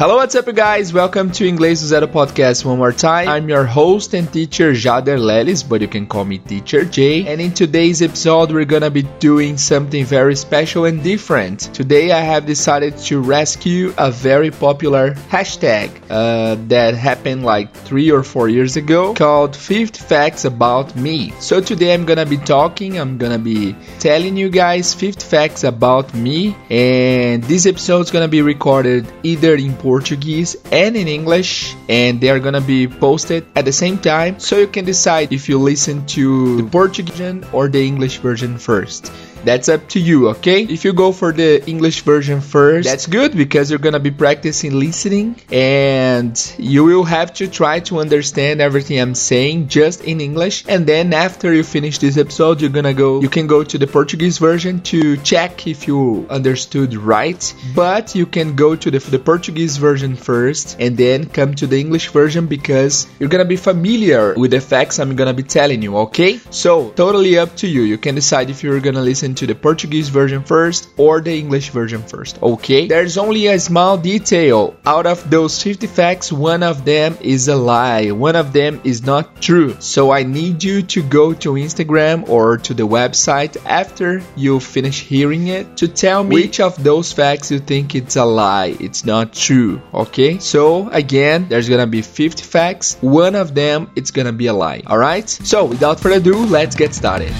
Hello, what's up, you guys? Welcome to Inglês do Zero podcast one more time. I'm your host and teacher, Jader Lelis, but you can call me Teacher J. And in today's episode, we're gonna be doing something very special and different. Today, I have decided to rescue a very popular hashtag that happened like 3 or 4 years ago called 50 Facts About Me. So today, I'm gonna be telling you guys 50 facts about me, and this episode is gonna be recorded either in Portuguese and in English, and they are gonna be posted at the same time, so you can decide if you listen to the Portuguese version or the English version first. That's up to you, okay? If you go for the English version first, that's good because you're gonna be practicing listening and you will have to try to understand everything I'm saying just in English. And then after you finish this episode, you can go to the Portuguese version to check if you understood right. But you can go to the Portuguese version first and then come to the English version because you're gonna be familiar with the facts I'm gonna be telling you, okay? So, totally up to you. You can decide if you're gonna listen to the Portuguese version first or the English version first, okay? There's only a small detail. Out of those 50 facts, one of them is a lie. One of them is not true. So I need you to go to Instagram or to the website after you finish hearing it to tell me which of those facts you think it's a lie, it's not true, okay? So again, there's gonna be 50 facts. One of them, it's gonna be a lie, alright? So without further ado, let's get started.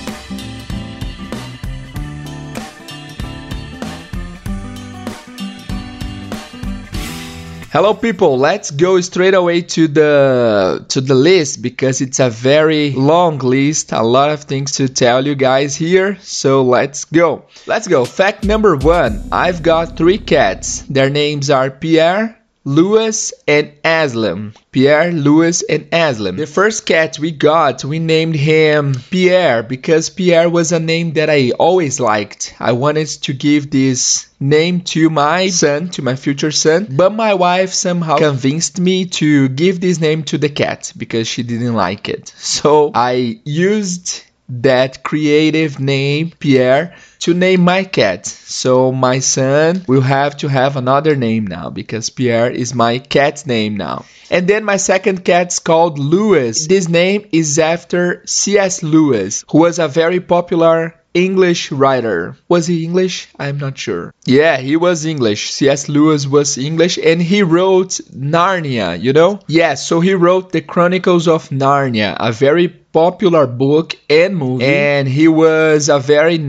Hello people, let's go straight away to the list because it's a very long list, a lot of things to tell you guys here, so let's go. Fact number 1, I've got 3 cats. Their names are Pierre, Louis, and Aslam. Pierre, Louis, and Aslam. The first cat we named him Pierre because Pierre was a name that I always liked. I wanted to give this name to my son, to my future son, but my wife somehow convinced me to give this name to the cat because she didn't like it. So I used that creative name, Pierre, to name my cat. So my son will have to have another name now because Pierre is my cat's name now. And then my second cat's called Louis. This name is after C.S. Lewis, who was a very popular English writer. Was he English? I'm not sure. Yeah, he was English. C.S. Lewis was English and he wrote Narnia, you know? Yeah, so he wrote The Chronicles of Narnia, a very popular book and movie, and he was a very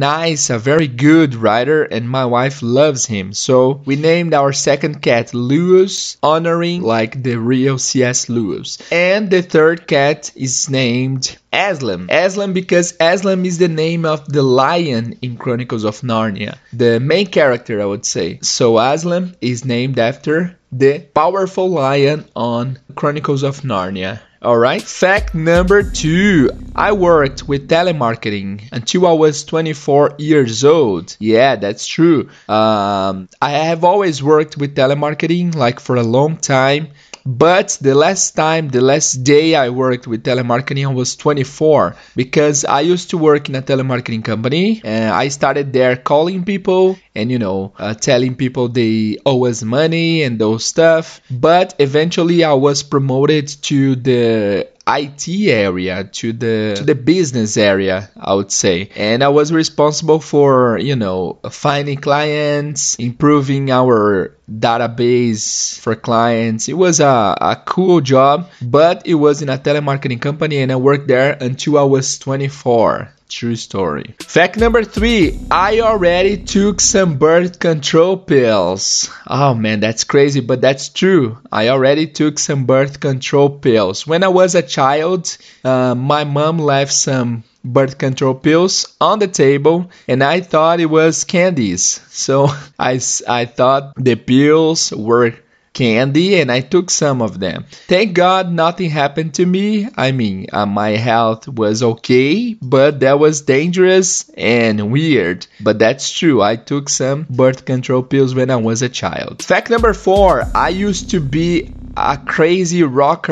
good writer, and my wife loves him. So we named our second cat Louis, honoring like the real C.S. Lewis. And the third cat is named Aslam. Aslam because Aslam is the name of the lion in Chronicles of Narnia, the main character, I would say. So Aslam is named after the powerful lion on Chronicles of Narnia. Alright, fact number 2. I worked with telemarketing until I was 24 years old. Yeah, that's true. I have always worked with telemarketing like for a long time. But the last day I worked with telemarketing, I was 24 because I used to work in a telemarketing company and I started there calling people and, telling people they owe us money and those stuff. But eventually I was promoted to the IT area, to the business area, I would say. And I was responsible for, finding clients, improving our database for clients. It was a cool job, but it was in a telemarketing company and I worked there until I was 24. True story. Fact number 3, I already took some birth control pills. Oh man, that's crazy, but that's true. I already took some birth control pills. When I was a child, my mom left some birth control pills on the table and I thought it was candies. So I thought the pills were candy and I took some of them. Thank God nothing happened to me. I mean, my health was okay, but that was dangerous and weird. But that's true. I took some birth control pills when I was a child. Fact number 4, I used to be a crazy rocker.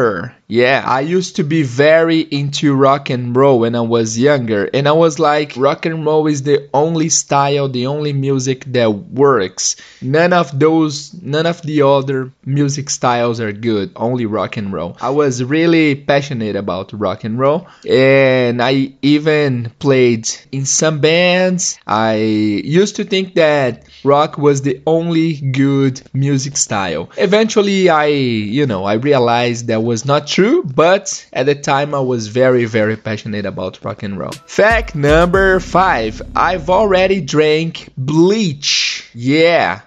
Yeah, I used to be very into rock and roll when I was younger, and I was like, rock and roll is the only style, the only music that works. None of the other music styles are good, only rock and roll. I was really passionate about rock and roll, and I even played in some bands. I used to think that rock was the only good music style. Eventually, I realized that was not true, but at the time I was very, very passionate about rock and roll. Fact number 5. I've already drank bleach. Yeah,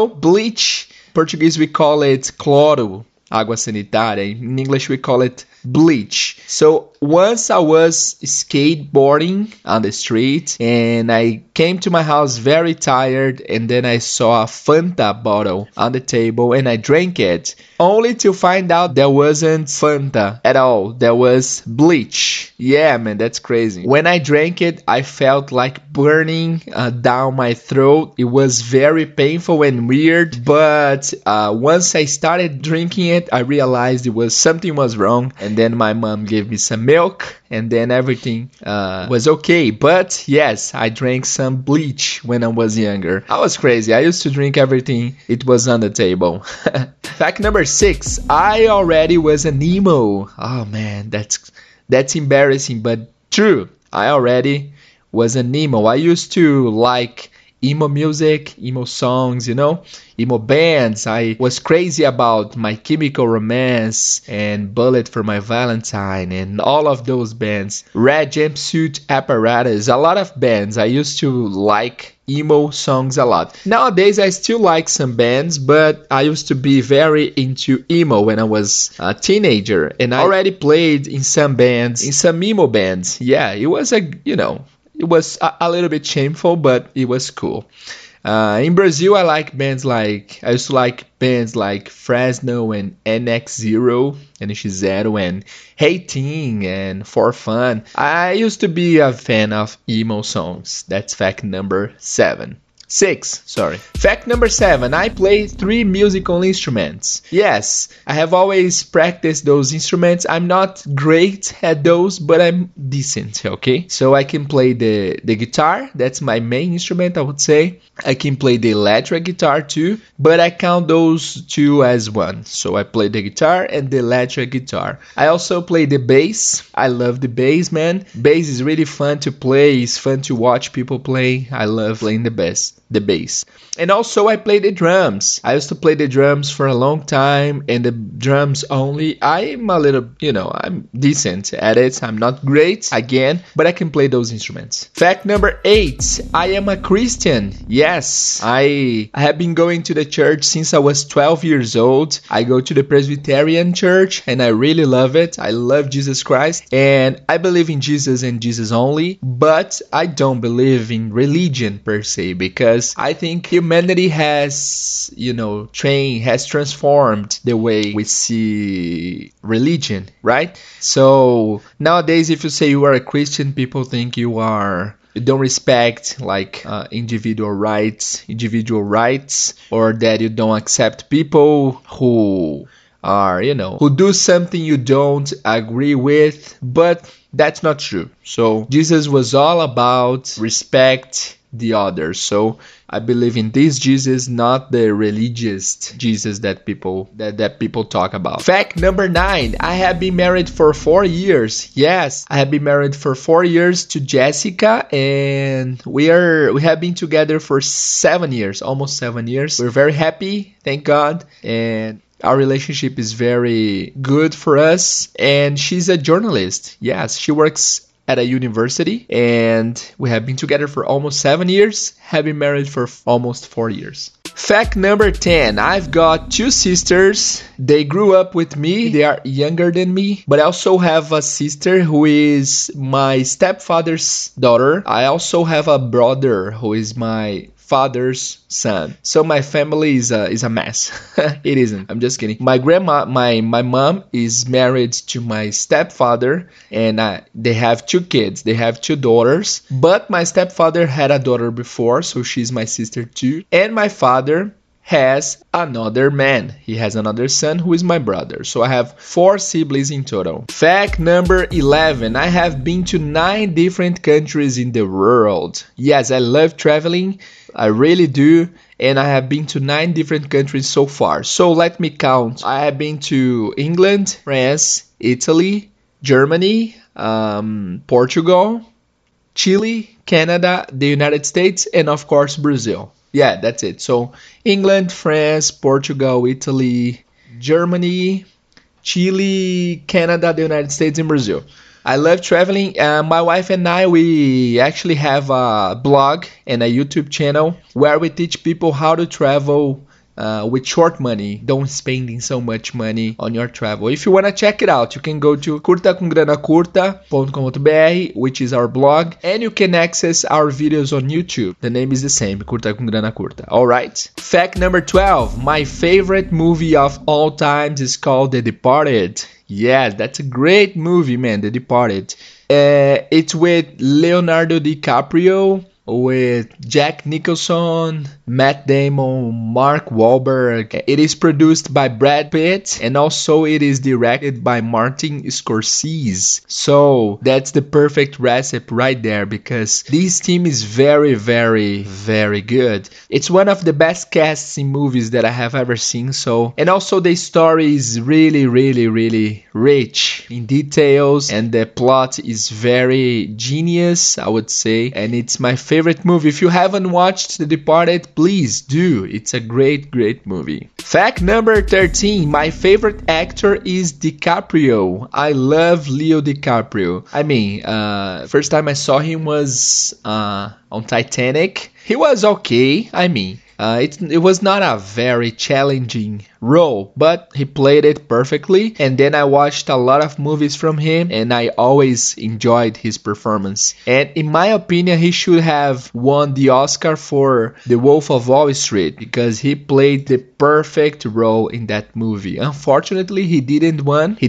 bleach. Portuguese we call it cloro, água sanitária. In English we call it bleach. So once I was skateboarding on the street and I came to my house very tired, and then I saw a Fanta bottle on the table and I drank it, only to find out there wasn't Fanta at all. There was bleach. Yeah, man, that's crazy. When I drank it, I felt like burning down my throat. It was very painful and weird, but once I started drinking it, I realized something was wrong, and then my mom gave me some milk, and then everything was okay. But yes, I drank some bleach when I was younger. I was crazy. I used to drink everything it was on the table. Fact number 6. I already was an emo. Oh man, that's embarrassing, but true. I already was an emo. I used to like emo music, emo songs, emo bands. I was crazy about My Chemical Romance and Bullet for My Valentine and all of those bands. Red Jumpsuit Apparatus, a lot of bands. I used to like emo songs a lot. Nowadays I still like some bands, but I used to be very into emo when I was a teenager, and I already played in some bands, in some emo bands. Yeah, it was it was a little bit shameful, but it was cool. In Brazil, I used to like bands like Fresno and NX0 and NX0 and Hating and For Fun. I used to be a fan of emo songs. That's fact number 6. Fact number 7. I play 3 musical instruments. Yes, I have always practiced those instruments. I'm not great at those, but I'm decent, okay? So I can play the guitar. That's my main instrument, I would say. I can play the electric guitar too, but I count those 2 as one. So I play the guitar and the electric guitar. I also play the bass. I love the bass, man. Bass is really fun to play. It's fun to watch people play. I love playing the bass. And also I play the drums. I used to play the drums for a long time, and the drums only. I'm a little, I'm decent at it. I'm not great, again, but I can play those instruments. Fact number 8. I am a Christian. Yes, I have been going to the church since I was 12 years old. I go to the Presbyterian church and I really love it. I love Jesus Christ and I believe in Jesus and Jesus only, but I don't believe in religion per se, because I think humanity has transformed the way we see religion, right? So nowadays, if you say you are a Christian, people think you don't respect individual rights, or that you don't accept people who are, who do something you don't agree with, but that's not true. So Jesus was all about respect the others. So I believe in this Jesus, not the religious Jesus that people talk about. Fact number 9. I have been married for 4 years. Yes, I have been married for 4 years to Jessica, and we have been together for 7 years, almost 7 years. We're very happy, thank God, and our relationship is very good for us. And she's a journalist. Yes, she works at a university, and we have been together for almost 7 years, have been married for almost 4 years. Fact number 10. I've got 2 sisters. They grew up with me. They are younger than me, but I also have a sister who is my stepfather's daughter. I also have a brother who is my father's son. So my family is a mess. It isn't. I'm just kidding. My grandma, my mom is married to my stepfather, and they have 2 kids. They have 2 daughters, but my stepfather had a daughter before, so she's my sister too. And my father has another man. He has another son who is my brother. So I have 4 siblings in total. Fact number 11. I have been to 9 different countries in the world. Yes, I love traveling. I really do. And I have been to 9 different countries so far. So let me count. I have been to England, France, Italy, Germany, Portugal, Chile, Canada, the United States, and of course Brazil. Yeah, that's it. So England, France, Portugal, Italy, Germany, Chile, Canada, the United States, and Brazil. I love traveling. My wife and I, we actually have a blog and a YouTube channel where we teach people how to travel with short money. Don't spending so much money on your travel. If you want to check it out, you can go to curtacomgranacurta.com.br, which is our blog, and you can access our videos on YouTube. The name is the same, Curta com Grana Curta. Alright? Fact number 12. My favorite movie of all times is called The Departed. Yeah, that's a great movie, man, The Departed. It's with Leonardo DiCaprio, with Jack Nicholson, Matt Damon, Mark Wahlberg. It is produced by Brad Pitt, and also it is directed by Martin Scorsese. So that's the perfect recipe right there, because this team is very, very, very good. It's one of the best casts in movies that I have ever seen. So, and also the story is really, really, really rich in details, and the plot is very genius, I would say, and it's my favorite movie. If you haven't watched The Departed, please do. It's a great, great movie. Fact number 13. My favorite actor is DiCaprio. I love Leo DiCaprio. I mean, first time I saw him was on Titanic. He was okay. I mean, it was not a very challenging role, but he played it perfectly. And then I watched a lot of movies from him, and I always enjoyed his performance. And in my opinion, he should have won the Oscar for The Wolf of Wall Street, because he played the perfect role in that movie. Unfortunately, he didn't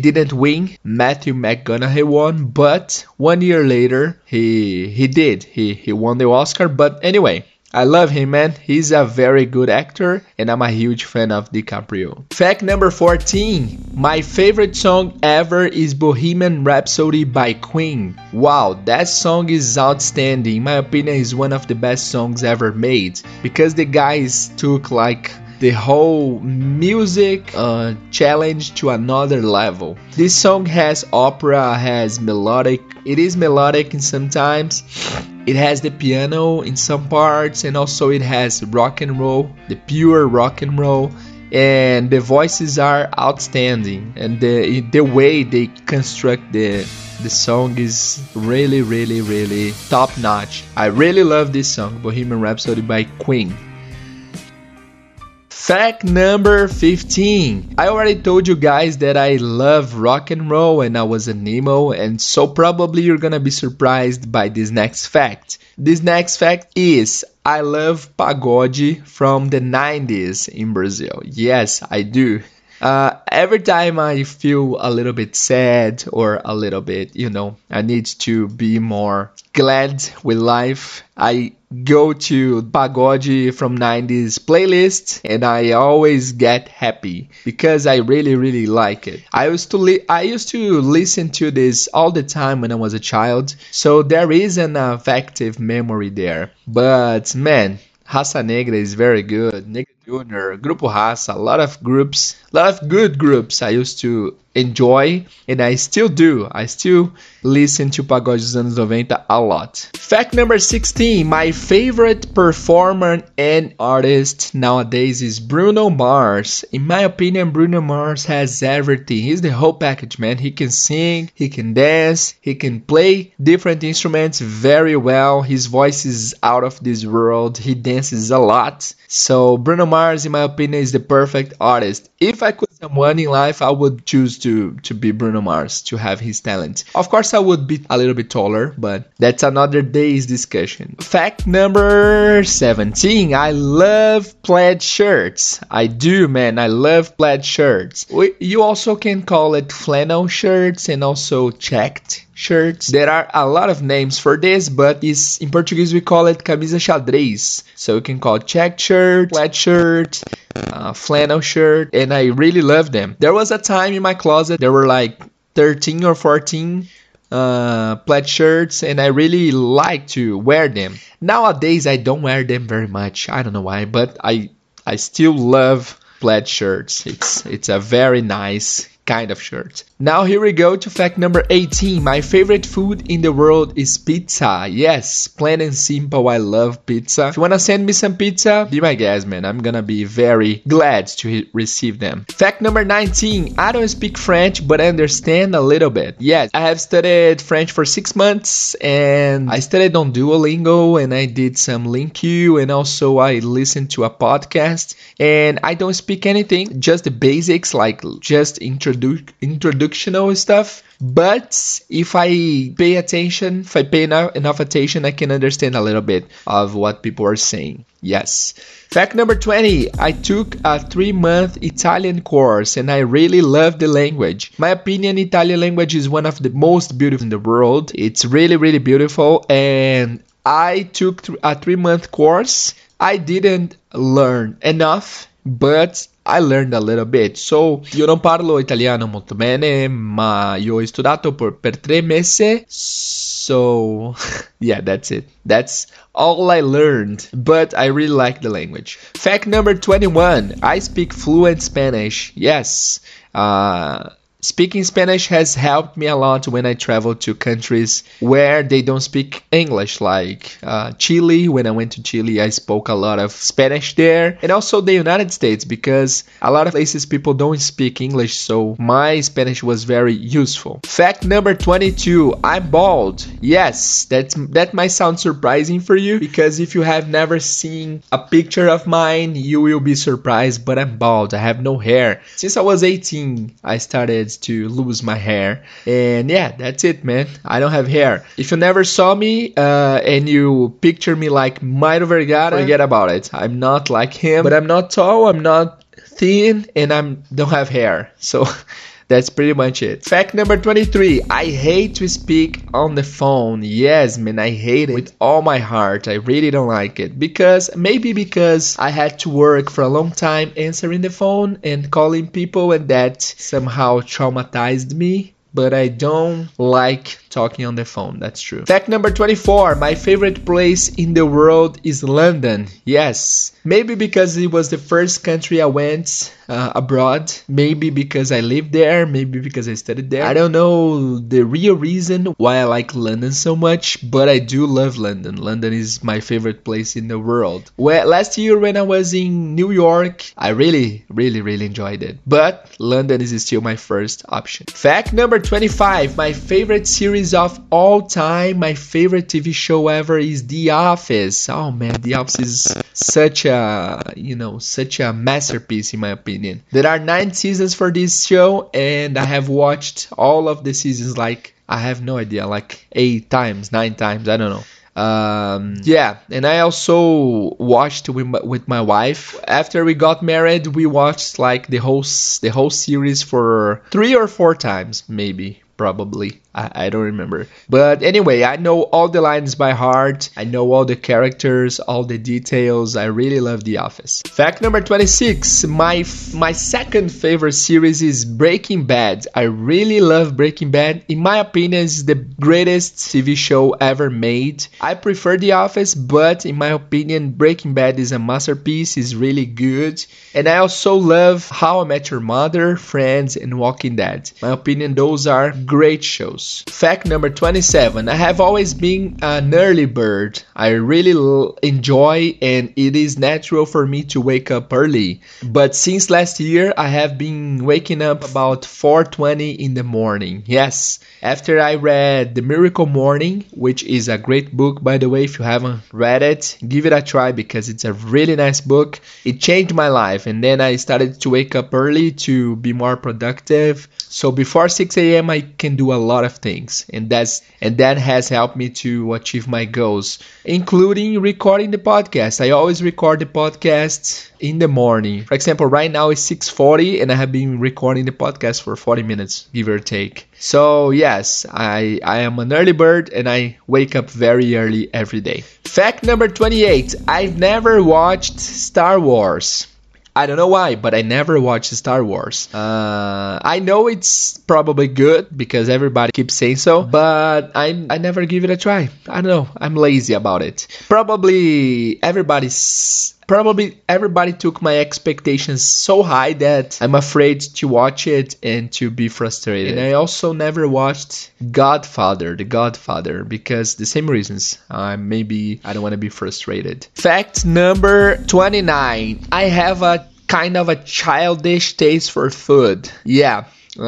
win. Matthew McConaughey won, but 1 year later, he did. He won the Oscar. But anyway, I love him, man. He's a very good actor, and I'm a huge fan of DiCaprio. Fact number 14. My favorite song ever is Bohemian Rhapsody by Queen. Wow, that song is outstanding. In my opinion, is one of the best songs ever made, because the guys took like the whole music challenge to another level. This song has opera, has melodic. It is melodic in sometimes. It has the piano in some parts, and also it has rock and roll, the pure rock and roll, and the voices are outstanding, and the way they construct the song is really, really, really top notch. I really love this song, Bohemian Rhapsody by Queen. Fact number 15. I already told you guys that I love rock and roll and I was an emo, and so probably you're gonna be surprised by this next fact. This next fact is I love pagode from the 90s in Brazil. Yes, I do. Every time I feel a little bit sad or a little bit, I need to be more glad with life, I go to pagode from 90s playlist, and I always get happy because I really, really like it. I used to listen to this all the time when I was a child, so there is an affective memory there. But man, Raça Negra is very good. Negra Junior, Grupo Raça, a lot of good groups I used to enjoy, and I still do. I still listen to pagode dos anos 90 a lot. Fact number 16. My favorite performer and artist nowadays is Bruno Mars. In my opinion, Bruno Mars has everything. He's the whole package, man. He can sing, he can dance, he can play different instruments very well. His voice is out of this world. He dances a lot. So Bruno Mars, in my opinion, is the perfect artist. If I could someone in life, I would choose to be Bruno Mars, to have his talent. Of course, I would be a little bit taller, but that's another day's discussion. Fact number 17. I love plaid shirts. I do, man. I love plaid shirts. You also can call it flannel shirts and also checked shirts. There are a lot of names for this, but in Portuguese we call it camisa xadrez. So you can call it checked shirt, plaid shirt, flannel shirt, and I really love them. There was a time in my closet there were like 13 or 14 plaid shirts, and I really like to wear them. Nowadays I don't wear them very much. I don't know why, but I still love plaid shirts. It's a very nice kind of shirt. Now here we go to fact number 18. My favorite food in the world is pizza. Yes, plain and simple, I love pizza. If you wanna send me some pizza, be my guest, man. I'm gonna be very glad to receive them. Fact number 19. I don't speak French, but I understand a little bit. Yes, I have studied French for 6 months, and I studied on Duolingo, and I did some LingQ, and also I listened to a podcast. And I don't speak anything, just the basics, like just introductional stuff. But if I pay attention, if I pay enough attention, I can understand a little bit of what people are saying. Yes. Fact number 20. I took a 3-month Italian course and I really love the language. My opinion, Italian language is one of the most beautiful in the world. It's really, really beautiful. And I took a 3-month course. I didn't learn enough, but I learned a little bit. So, io non parlo italiano molto bene, ma io ho studiato per 3 mesi. So, yeah, that's it. That's all I learned, but I really like the language. Fact number 21. I speak fluent Spanish. Yes. Speaking Spanish has helped me a lot when I travel to countries where they don't speak English, like Chile. When I went to Chile, I spoke a lot of Spanish there, and also the United States, because a lot of places people don't speak English, so my Spanish was very useful. Fact number 22, I'm bald. Yes, that might sound surprising for you, because if you have never seen a picture of mine, you will be surprised, but I'm bald. I have no hair. Since I was 18, I started to lose my hair, and yeah, that's it, man. I don't have hair. If you never saw me and you picture me like Mairo Vergara, forget about it. I'm not like him, but I'm not tall, I'm not thin, and I don't have hair, so that's pretty much it. Fact number 23. I hate to speak on the phone. Yes, man, I hate it with all my heart. I really don't like it. Maybe because I had to work for a long time answering the phone and calling people, and that somehow traumatized me. But I don't like talking on the phone, that's true. Fact number 24. My favorite place in the world is London. Yes, maybe because it was the first country I went abroad. Maybe because I lived there. Maybe because I studied there. I don't know the real reason why I like London so much, but I do love London. London is my favorite place in the world. Well, last year when I was in New York, I really enjoyed it. But London is still my first option. Fact number 25. My favorite series of all time, my favorite TV show ever is The Office. Oh man, The Office is such a masterpiece in my opinion. There are 9 seasons for this show, and I have watched all of the seasons, like, I have no idea, like 8 times, 9 times, I don't know. Yeah, and I also watched with my wife. After we got married, we watched like the whole series for 3 or 4 times, maybe. Probably. I don't remember. But anyway, I know all the lines by heart. I know all the characters, all the details. I really love The Office. Fact number 26. My second favorite series is Breaking Bad. I really love Breaking Bad. In my opinion, it's the greatest TV show ever made. I prefer The Office, but in my opinion, Breaking Bad is a masterpiece. It's really good. And I also love How I Met Your Mother, Friends, and Walking Dead. In my opinion, those are great shows. Fact number 27. I have always been an early bird. I really enjoy, and it is natural for me to wake up early. But since last year, I have been waking up about 4:20 in the morning. Yes, after I read The Miracle Morning, which is a great book, by the way. If you haven't read it, give it a try, because it's a really nice book. It changed my life, and then I started to wake up early to be more productive. So before 6 a.m. I can do a lot of things, and that has helped me to achieve my goals, including recording the podcast. I always record the podcast in the morning. For example, right now it's 6:40 and I have been recording the podcast for 40 minutes, give or take. So yes, I am an early bird and I wake up very early every day. Fact number 28. I've never watched Star Wars. I don't know why, but I never watched Star Wars. I know it's probably good because everybody keeps saying so, but I never give it a try. I don't know. I'm lazy about it. Probably everybody took my expectations so high that I'm afraid to watch it and to be frustrated. And I also never watched The Godfather, because the same reasons. Maybe I don't want to be frustrated. Fact number 29. I have a kind of a childish taste for food. Yeah.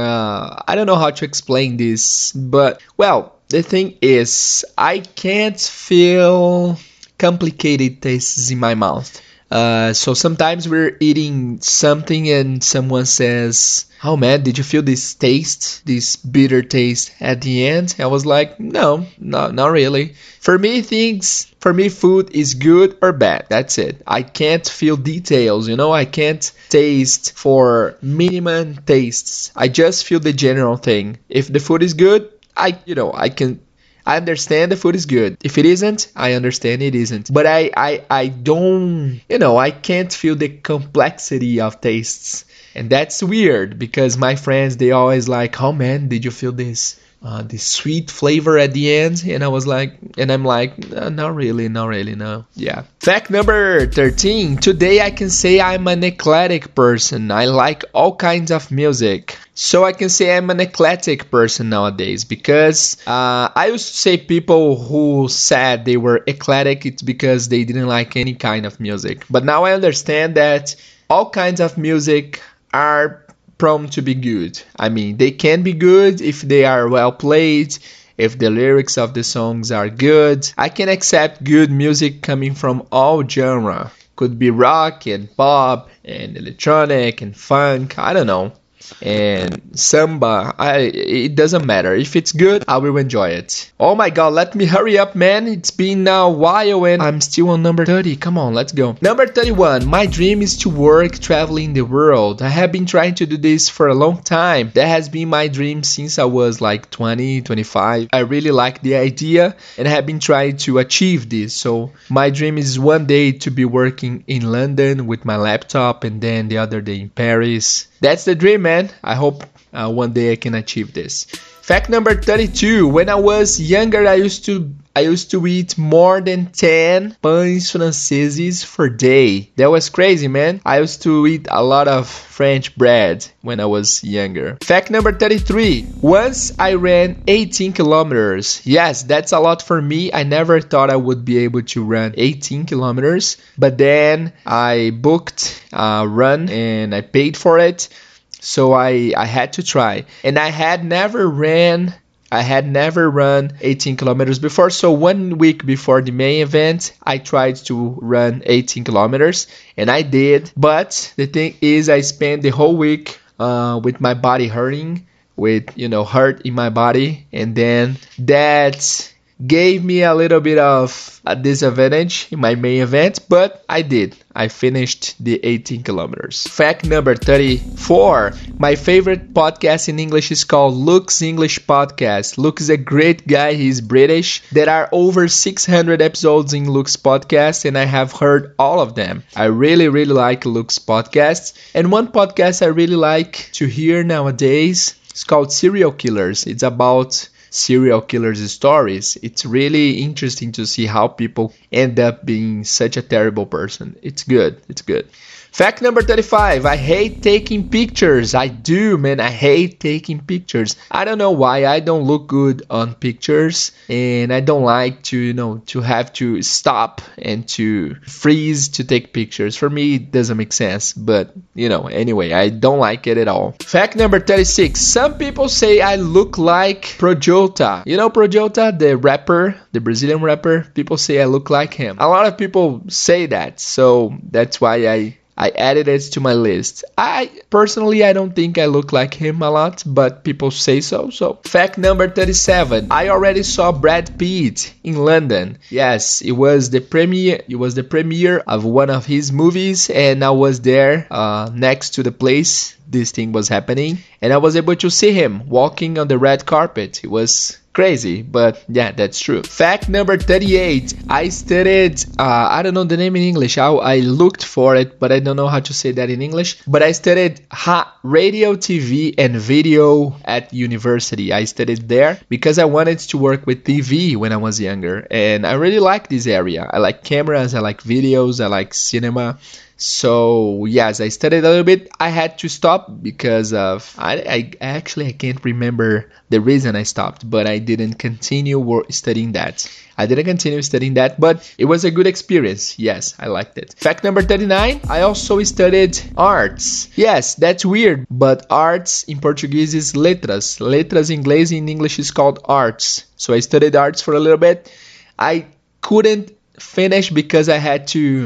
I don't know how to explain this, but, well, the thing is, I can't feel complicated tastes in my mouth. So sometimes we're eating something and someone says, "Oh man, did you feel this taste, this bitter taste at the end?" I was like, no, not really. For me, food is good or bad. That's it. I can't feel details, I can't taste for minimum tastes. I just feel the general thing. If the food is good, I understand the food is good. If it isn't, I understand it isn't. But I don't, I can't feel the complexity of tastes. And that's weird because my friends, they always like, "Oh man, did you feel this sweet flavor at the end?" And I'm like, not really, no. Yeah. Fact number 13. Today I can say I'm an eclectic person. I like all kinds of music. So I can say I'm an eclectic person nowadays because I used to say people who said they were eclectic, it's because they didn't like any kind of music. But now I understand that all kinds of music are prone to be good. I mean, they can be good if they are well played, if the lyrics of the songs are good. I can accept good music coming from all genre. Could be rock and pop and electronic and funk, I don't know. And samba, it doesn't matter. If it's good, I will enjoy it. Oh my god, let me hurry up, man. It's been a while and I'm still on number 30. Come on, let's go. Number 31. My dream is to work traveling the world. I have been trying to do this for a long time. That has been my dream since I was like 20, 25. I really like the idea and I have been trying to achieve this. So my dream is one day to be working in London with my laptop and then the other day in Paris. That's the dream, man. I hope one day I can achieve this. Fact number 32. When I was younger, I used to eat more than 10 pães franceses per day. That was crazy, man. I used to eat a lot of French bread when I was younger. Fact number 33. Once I ran 18 kilometers. Yes, that's a lot for me. I never thought I would be able to run 18 kilometers. But then I booked a run and I paid for it. So I had to try. And I had never run 18 kilometers before. So 1 week before the main event, I tried to run 18 kilometers. And I did. But the thing is, I spent the whole week with my body hurting. With, hurt in my body. And then that gave me a little bit of a disadvantage in my main event, but I did. I finished the 18 kilometers. Fact number 34. My favorite podcast in English is called Luke's English Podcast. Luke is a great guy. He's British. There are over 600 episodes in Luke's podcast, and I have heard all of them. I really, really like Luke's podcast. And one podcast I really like to hear nowadays is called Serial Killers. It's about serial killers' stories. It's really interesting to see how people end up being such a terrible person. It's good. Fact number 35. I hate taking pictures. I do, man. I hate taking pictures. I don't know why. I don't look good on pictures. And I don't like to, to have to stop and to freeze to take pictures. For me, it doesn't make sense. But, anyway, I don't like it at all. Fact number 36. Some people say I look like Projota. You know Projota, the rapper, the Brazilian rapper? People say I look like him. A lot of people say that. So that's why I added it to my list. I don't think I look like him a lot, but people say so. So, fact number 37. I already saw Brad Pitt in London. Yes, it was the premiere of one of his movies, and I was there next to the place this thing was happening, and I was able to see him walking on the red carpet. It was Crazy, but yeah, that's true. Fact number 38. I studied, I don't know the name in English. I looked for it, but I don't know how to say that in English. But I studied radio, TV, and video at university. I studied there because I wanted to work with TV when I was younger. And I really like this area. I like cameras, I like videos, I like cinema. So yes, I studied a little bit. I had to stop because of I can't remember the reason I stopped, but I didn't continue studying that. I didn't continue studying that, but it was a good experience. Yes, I liked it. Fact number 39, I also studied arts. Yes, that's weird, but arts in Portuguese is letras. Letras in inglês, in English is called arts. So I studied arts for a little bit. I couldn't finish because I had to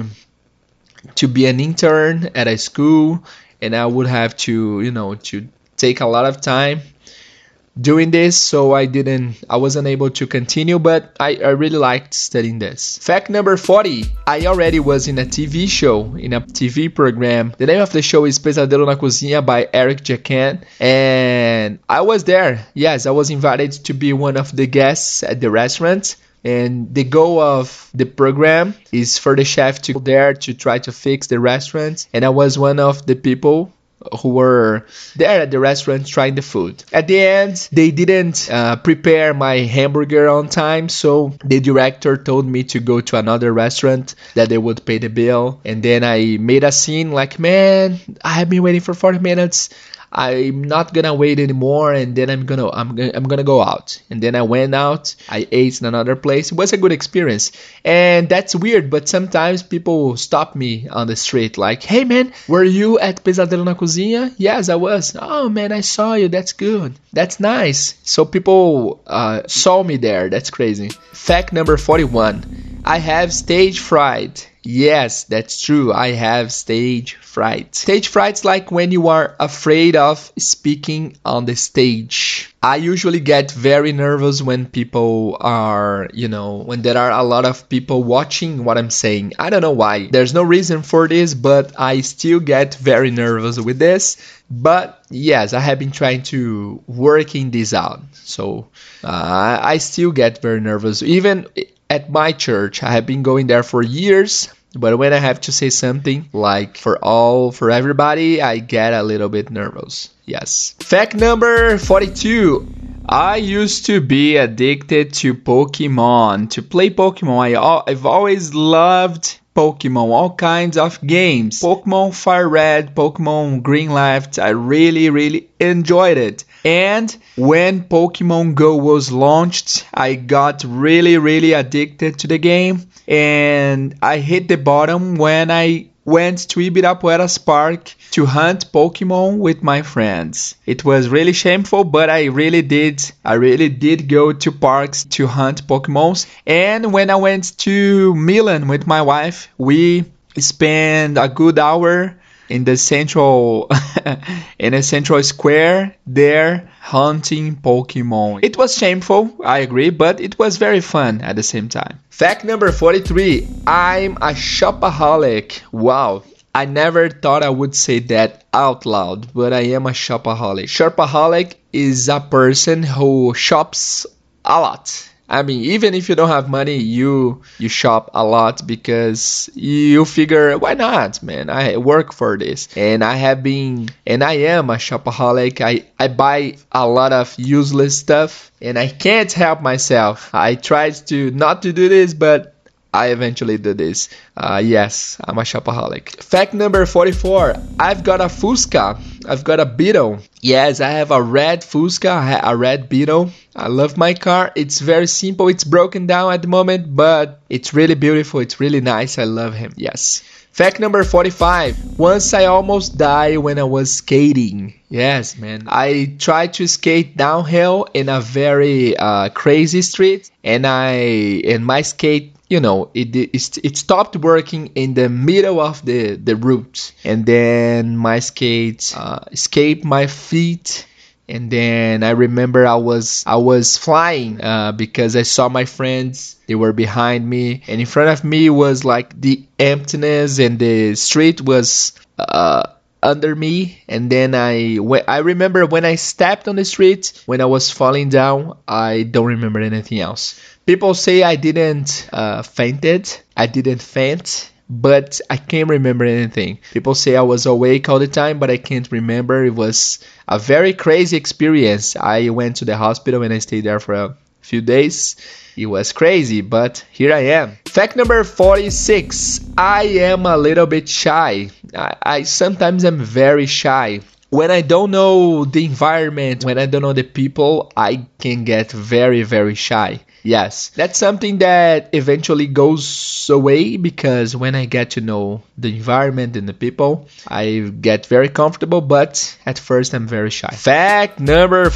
be an intern at a school, and I would have to take a lot of time doing this, so I wasn't able to continue, but I really liked studying this. Fact number 40, I already was in a TV show, in a TV program. The name of the show is Pesadelo na Cozinha by Eric Jacquin, and I was there. Yes, I was invited to be one of the guests at the restaurant. And the goal of the program is for the chef to go there to try to fix the restaurant. And I was one of the people who were there at the restaurant trying the food. At the end, they didn't prepare my hamburger on time, so the director told me to go to another restaurant that they would pay the bill. And then I made a scene like, man, I have been waiting for 40 minutes. I'm not gonna wait anymore, and then I'm gonna go out. And then I went out. I ate in another place. It was a good experience, and that's weird. But sometimes people stop me on the street, like, "Hey man, were you at Pesadelo na Cozinha?" Yes, I was. Oh man, I saw you. That's good. That's nice. So people saw me there. That's crazy. Fact number 41. I have stage fright. Yes, that's true. I have stage fright. Stage fright's like when you are afraid of speaking on the stage. I usually get very nervous when people are, when there are a lot of people watching what I'm saying. I don't know why. There's no reason for this, but I still get very nervous with this. But yes, I have been trying to working this out. So I still get very nervous. Even at my church, I have been going there for years, but when I have to say something like for everybody, I get a little bit nervous. Yes. Fact number 42. I used to be addicted to Pokemon, to play Pokemon. I've always loved Pokemon, all kinds of games. Pokemon Fire Red, Pokemon Green Left, I really, really enjoyed it. And when Pokemon Go was launched, I got really, really addicted to the game. And I hit the bottom when I went to Ibirapuera's park to hunt Pokemon with my friends. It was really shameful, but I really did go to parks to hunt Pokemons. And when I went to Milan with my wife, we spent a good hour in the central square there hunting Pokemon. It was shameful, I agree, but it was very fun at the same time. Fact number 43. I'm a shopaholic. Wow. I never thought I would say that out loud, but I am a shopaholic. Shopaholic is a person who shops a lot. I mean, even if you don't have money, you shop a lot because you figure, why not, man? I work for this. And I am a shopaholic. I buy a lot of useless stuff and I can't help myself. I tried to not to do this, but I eventually did this. Yes, I'm a shopaholic. Fact number 44. I've got a Fusca. I've got a Beetle. Yes, I have a red Fusca, a red Beetle. I love my car. It's very simple. It's broken down at the moment, but it's really beautiful. It's really nice. I love him. Yes. Fact number 45. Once I almost died when I was skating. Yes, man. I tried to skate downhill in a very crazy street, and my skate, it stopped working in the middle of the route, and then my skate escaped my feet. And then I remember I was flying because I saw my friends. They were behind me, and in front of me was like the emptiness, and the street was under me, and then I remember when I stepped on the street, when I was falling down. I don't remember anything else. People say I didn't faint, but I can't remember anything. People say I was awake all the time, but I can't remember. It was a very crazy experience. I went to the hospital and I stayed there for a few days. It was crazy, but here I am. Fact number 46. I am a little bit shy. I sometimes am very shy. When I don't know the environment, when I don't know the people, I can get very, very shy. Yes, that's something that eventually goes away because when I get to know the environment and the people, I get very comfortable, but at first I'm very shy. Fact number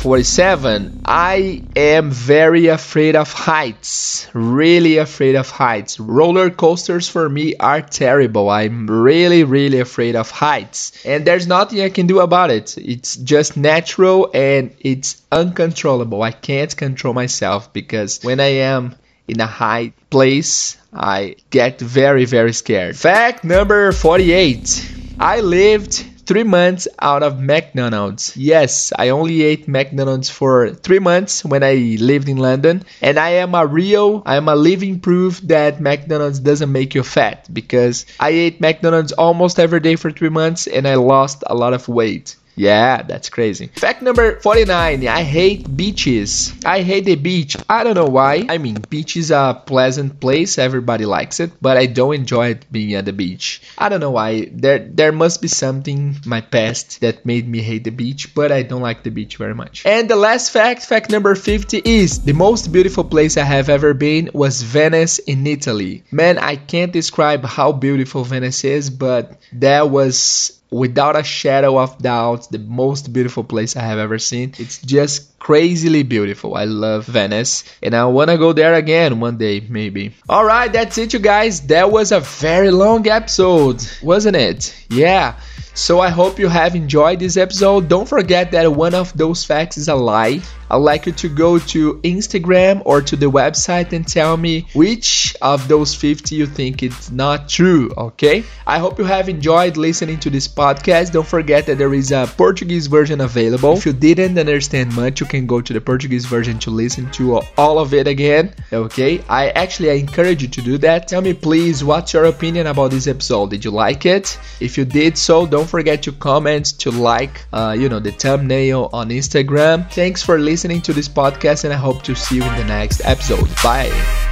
47. I am very afraid of heights. Really afraid of heights. Roller coasters for me are terrible. I'm really, really afraid of heights. And there's nothing I can do about it. It's just natural and it's uncontrollable. I can't control myself because when I am in a high place, I get very, very scared. Fact number 48. I lived 3 months out of McDonald's. Yes, I only ate McDonald's for 3 months when I lived in London. And I am a living proof that McDonald's doesn't make you fat because I ate McDonald's almost every day for 3 months and I lost a lot of weight. Yeah, that's crazy. Fact number 49. I hate beaches. I hate the beach. I don't know why. I mean, beach is a pleasant place. Everybody likes it. But I don't enjoy it being at the beach. I don't know why. There must be something in my past that made me hate the beach. But I don't like the beach very much. And the last fact number 50 is the most beautiful place I have ever been was Venice in Italy. Man, I can't describe how beautiful Venice is. But that was, without a shadow of doubt, the most beautiful place I have ever seen. It's just crazily beautiful. I love Venice and I want to go there again one day, maybe. Alright, that's it, you guys. That was a very long episode, wasn't it? Yeah. So I hope you have enjoyed this episode. Don't forget that one of those facts is a lie. I'd like you to go to Instagram or to the website and tell me which of those 50 you think it's not true, okay? I hope you have enjoyed listening to this podcast. Don't forget that there is a Portuguese version available. If you didn't understand much, you can go to the Portuguese version to listen to all of it again, okay? I encourage you to do that. Tell me please, what's your opinion about this episode? Did you like it? If you did so, don't forget to comment, to like, the thumbnail on Instagram. Thanks for listening to this podcast and I hope to see you in the next episode. Bye.